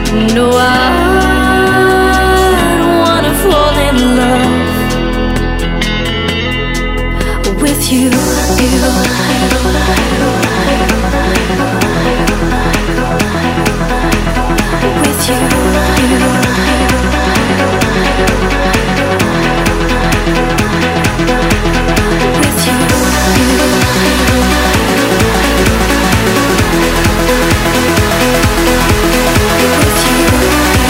No, I don't wanna fall in love with you. With you. With you.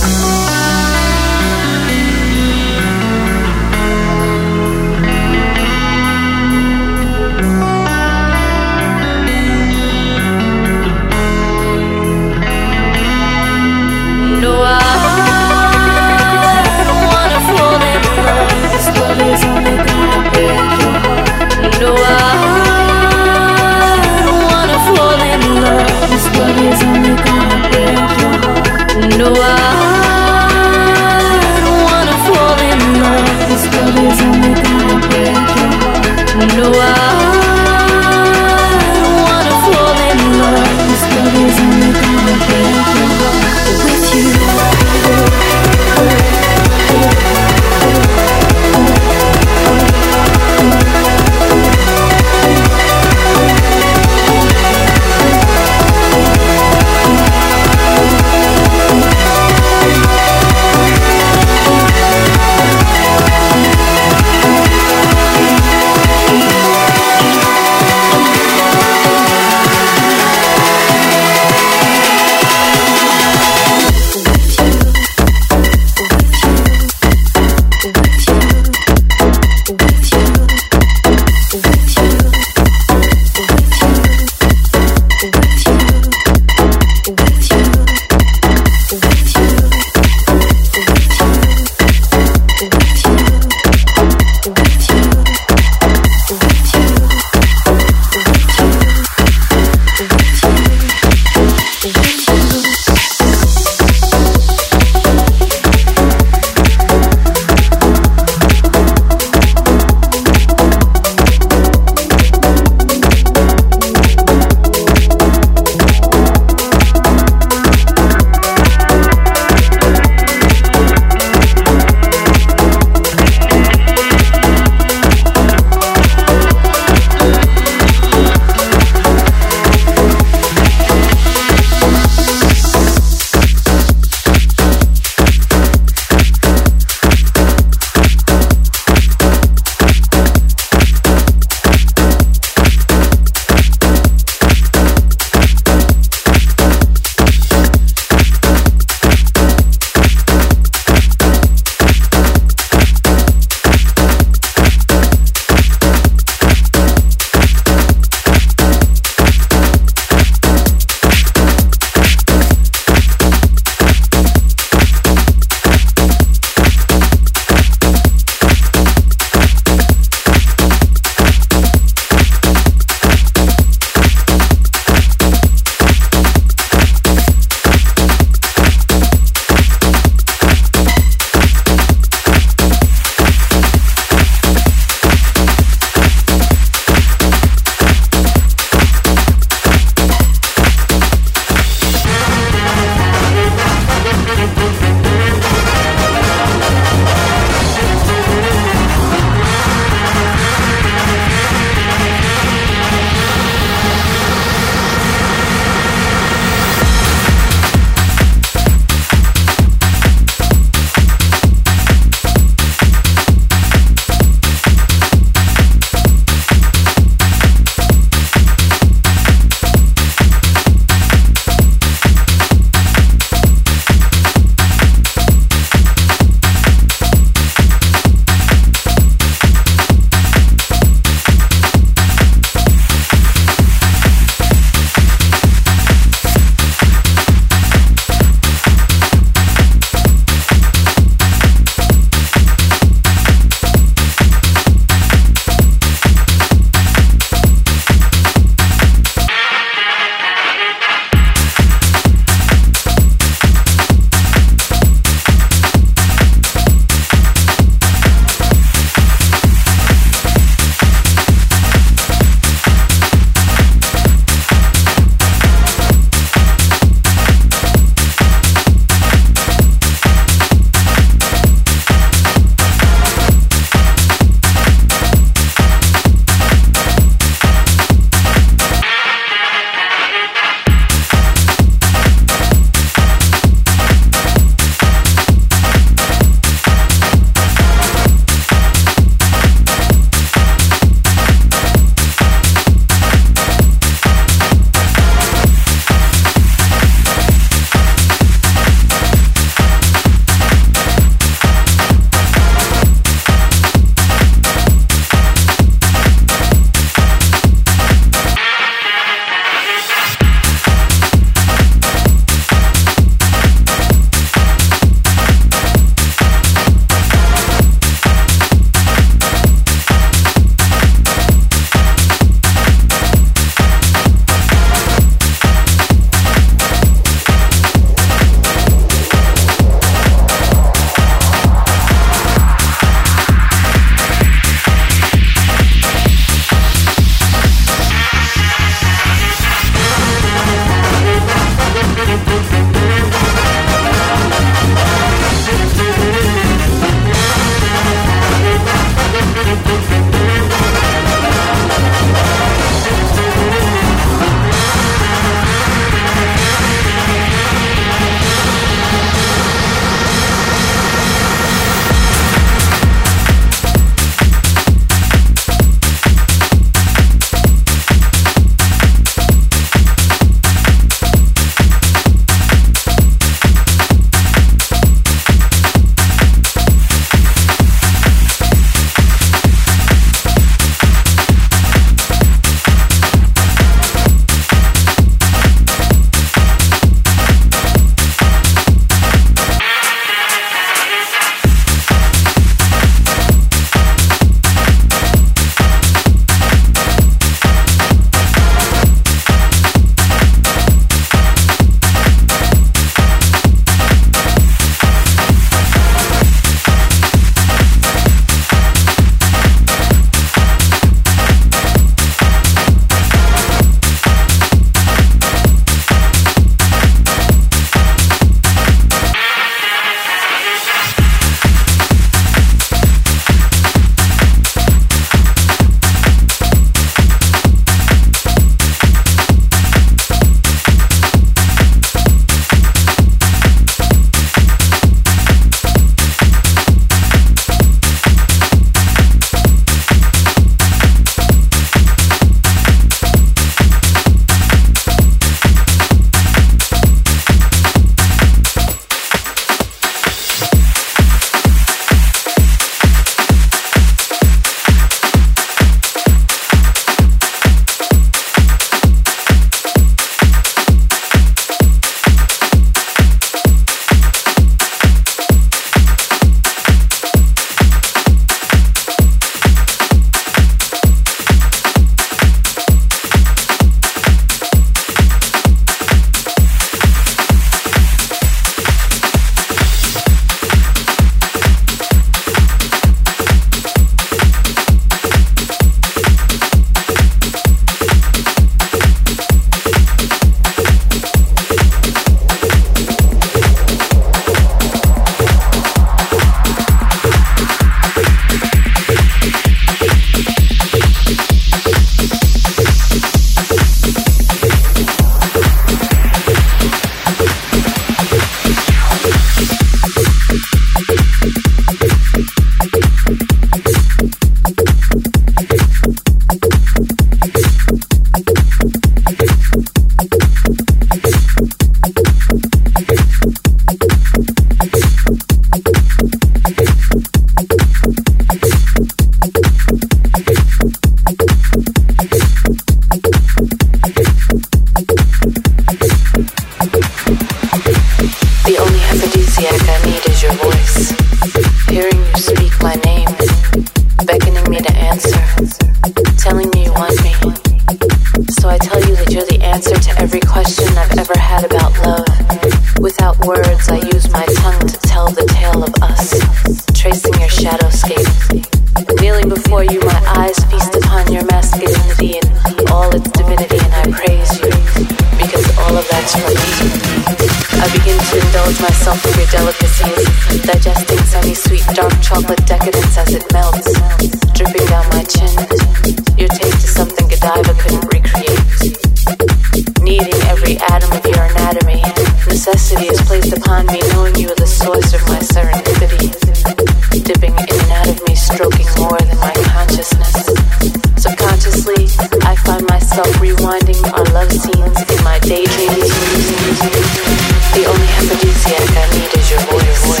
so I tell you that you're the answer to every question I've ever had about love. Without words, I use my tongue to tell the tale of us, tracing your shadowscape. Kneeling before you, my eyes feast upon your masculinity and all its divinity, and I praise you, because all of that's for me. I begin to indulge myself with your delicacies, digesting semi-sweet dark chocolate decadence as it melts, dripping down my chin. Your taste is something Godiva couldn't recreate. Needing every atom of your anatomy, necessity is placed upon me, knowing you are the source of my serendipity. Dipping in and out of me, stroking more than my consciousness. Subconsciously, I find myself rewinding our love scenes in my daydreams. The only aphrodisiac I need is your voice.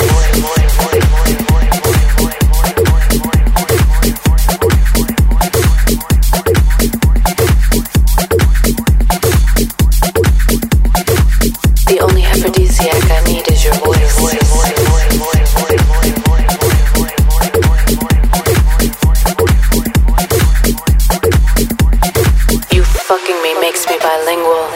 The only aphrodisiac I need is your voice. You fucking me makes me bilingual.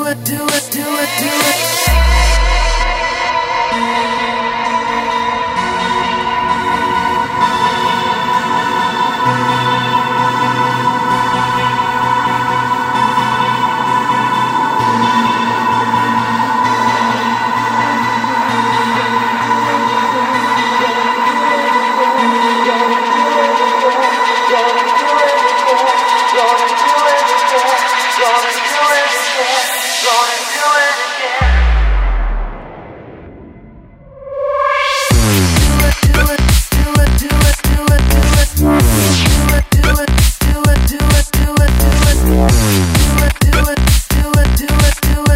Do it.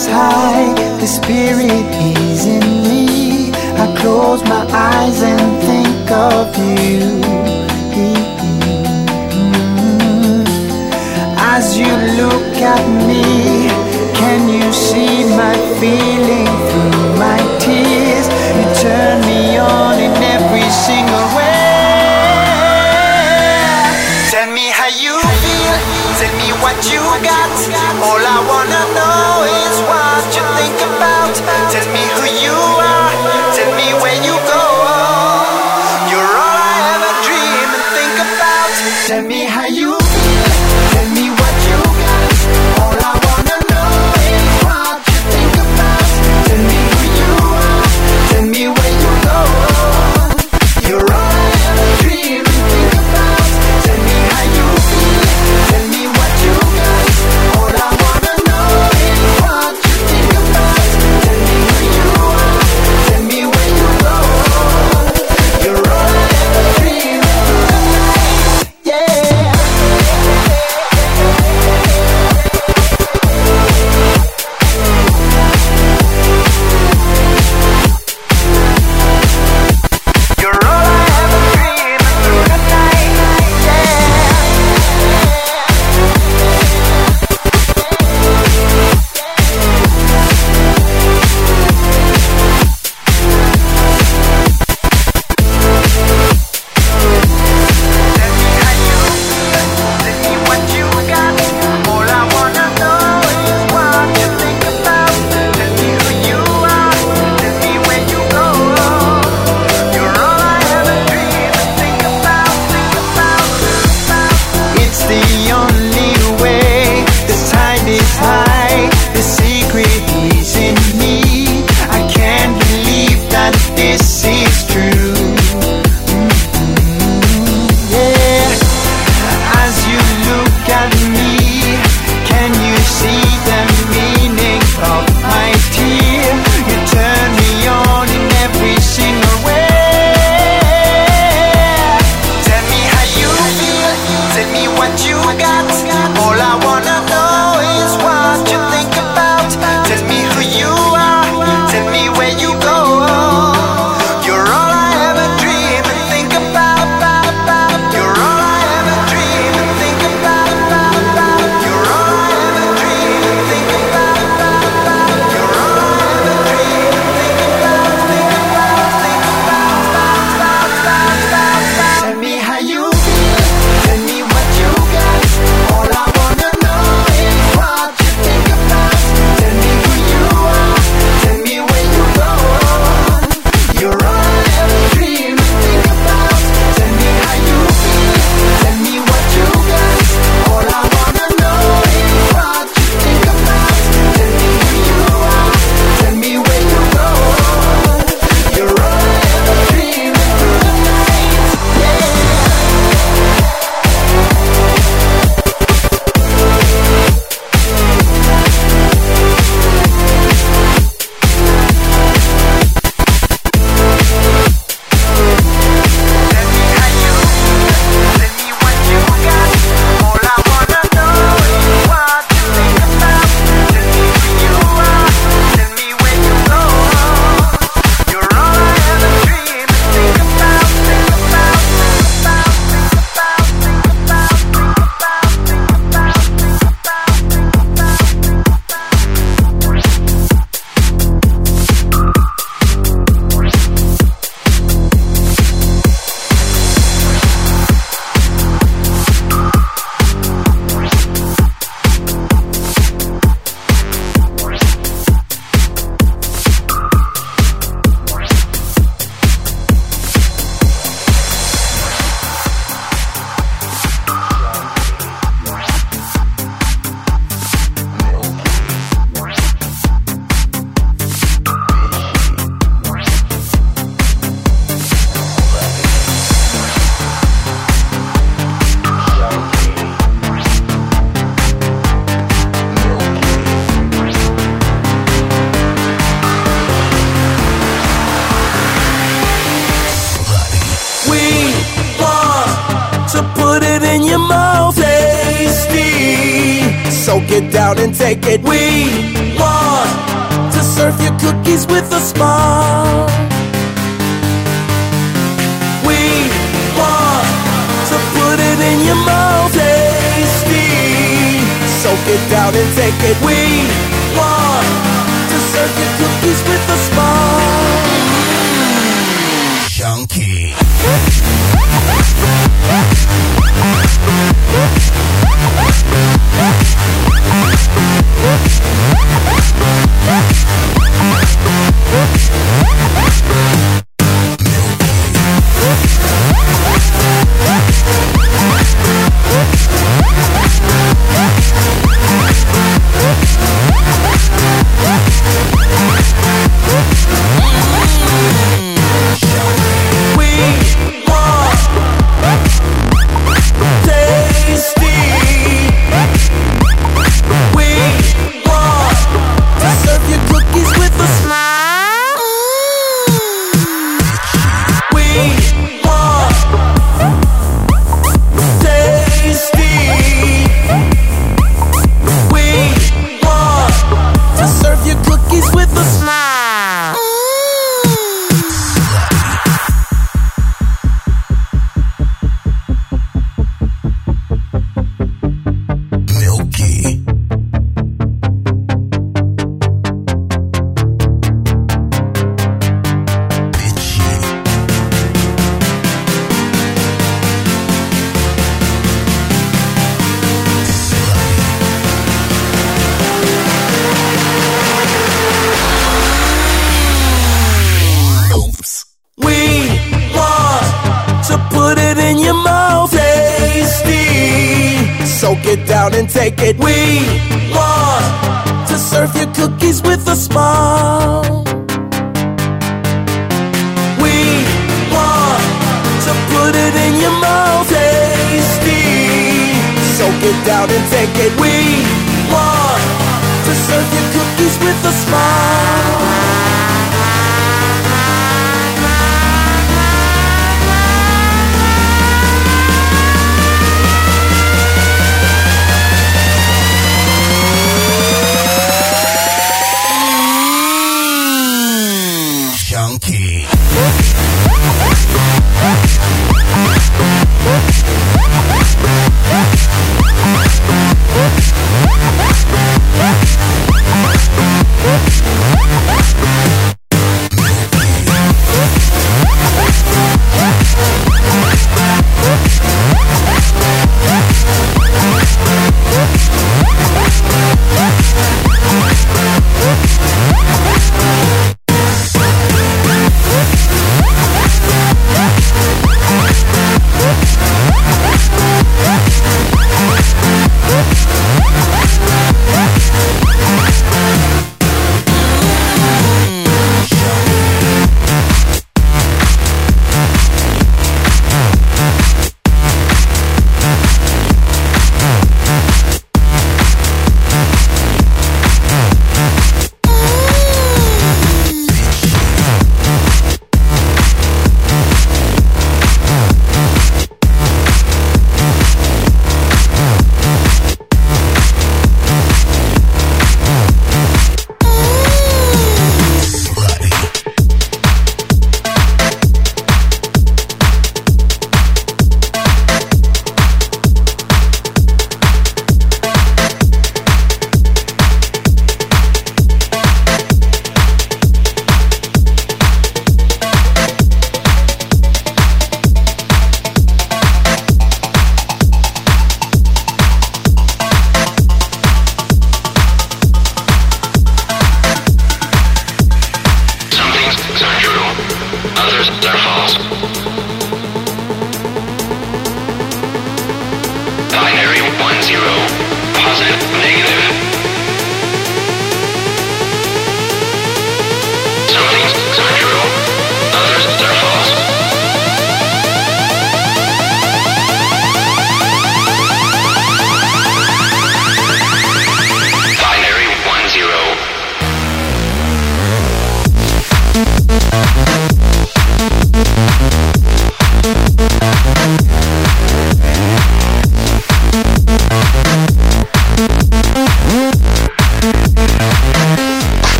rise high, the spirit is in me. I close my eyes and think of you. As you look at me, can you see my feeling through my tears? You turn me on in every single way. Tell me how you feel, tell me what you got. All I wanna know is what you think about. Tell me who you are, tell me where you go. You're all I ever dream and think about. Tell me how you feel, tell me what you got. All I wanna know is what you think about. Tell me who you are, tell me where you go. You're all I ever dream and think about. Tell me how you feel, tell me what you got. All I get down and take it. We want to serve you cookies with a smile. We want to put it in your mouth, tasty. So get down and take it. We want to serve you cookies with a smile. Chunky. Take it. We want to serve you cookies with a smile. We want to put it in your mouth, tasty. So get down and take it. We want to serve you cookies with a smile.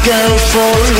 go for a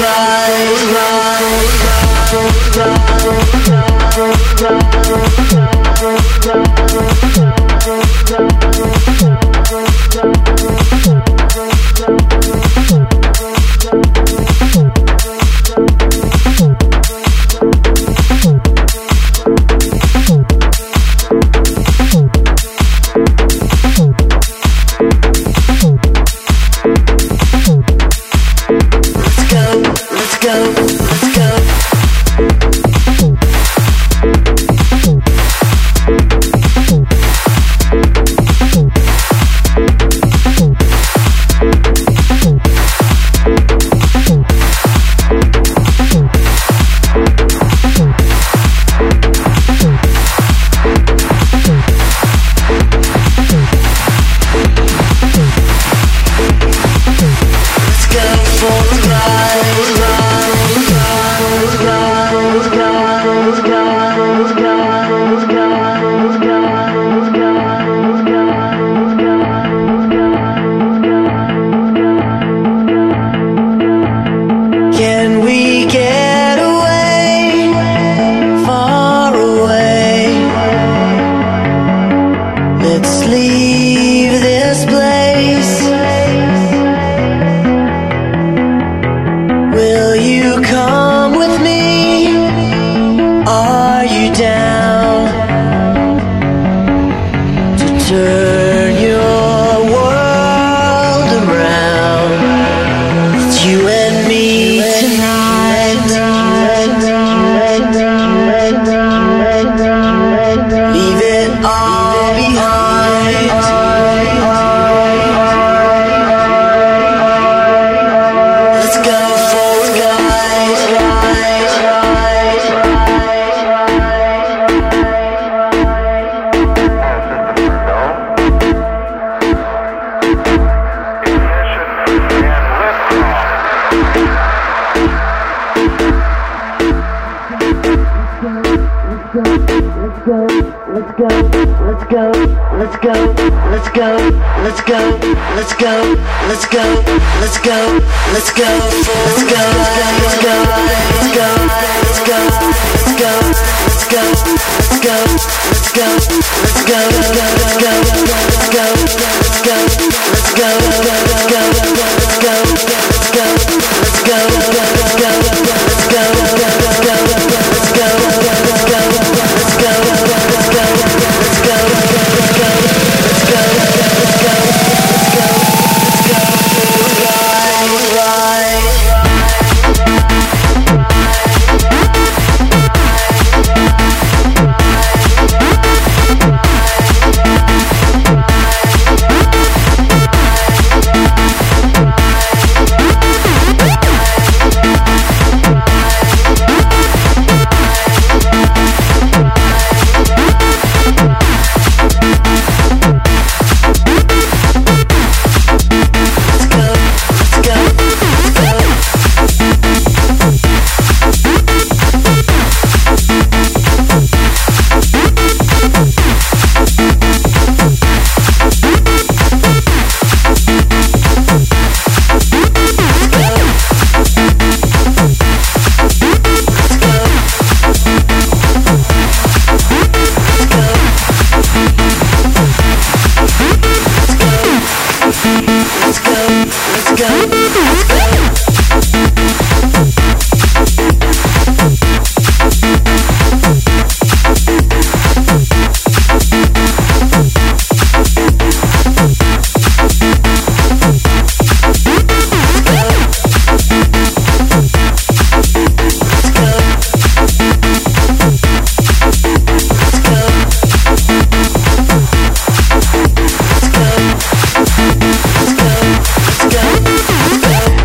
Let's go.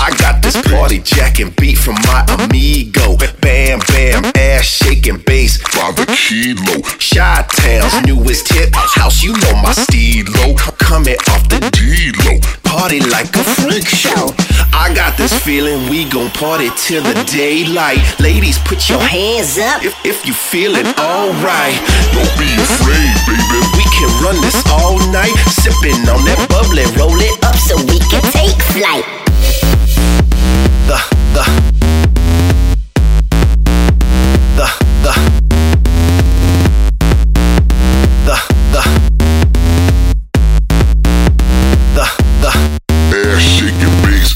I got this party jacking beat from my amigo. Bam, bam, ass shaking bass by the kilo. Chi-Town's newest hip house, you know my stilo. Coming off the D-Lo, party like a freak show. I got this feeling we gon' party till the daylight. Ladies, put your hands up if you feeling alright. Don't be afraid, baby, we can run this all night. Sipping on that bubbly, roll it up so we can take flight. Ass shaking bass.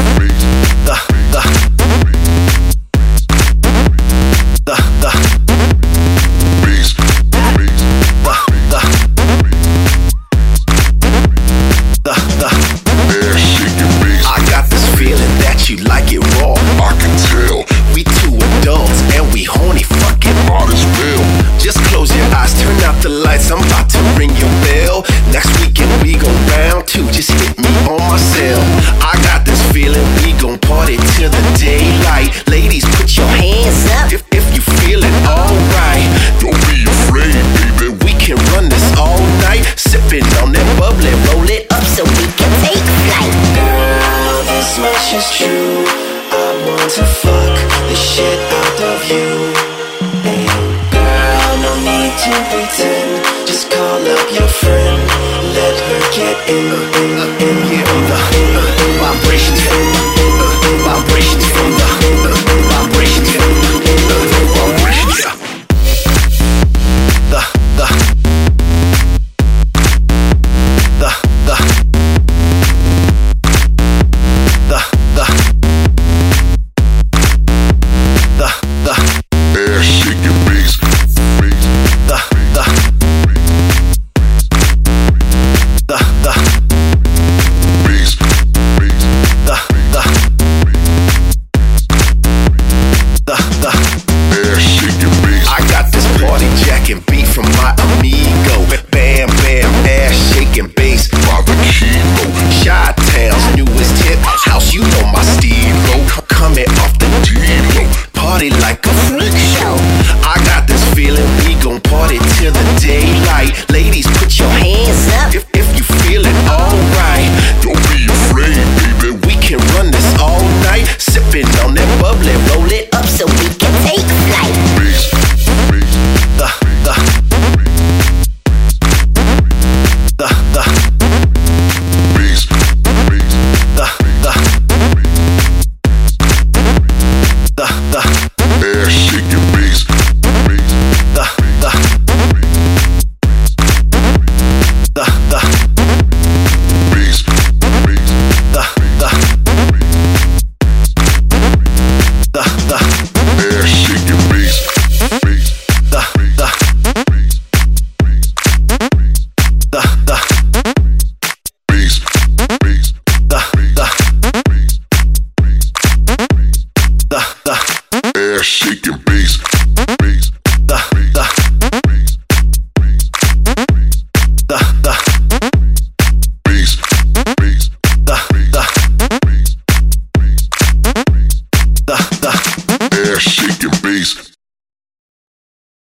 I got this feeling that you like it raw. I can tell. We two adults and we horny, fucking might as well. Just close your eyes, turn out the lights, I'm about to ring your bell. Next weekend we gon' round two, just hit me on my cell. I got this feeling we gon' party till the daylight. Ladies, put your hands up if you feeling alright. Don't be afraid, baby, we can run this all night. Sipping on that bubbly, roll it up so we can take flight. Girl, this much is true. I want to fuck the shit out of you. And girl, no need to pretend. Just call up your friend. Let her get in. Vibrations from vibrations from vibrations from vibrations. Ass shaking bass. I got this party jacking beat from my amigo. Bam, bam, ass shaking bass by the kilo. Chi-Town's newest hip house, you know my stilo. Coming off the D-Lo, party like a freak show. I got this feeling we gon' party till the daylight. Ladies, put your hands up if you feeling alright. Don't be afraid, baby, we can run this all night. Sipping on that bubbly, roll it up so we can take flight. Ass shaking bass. Shaking bass. Ass shaking bass.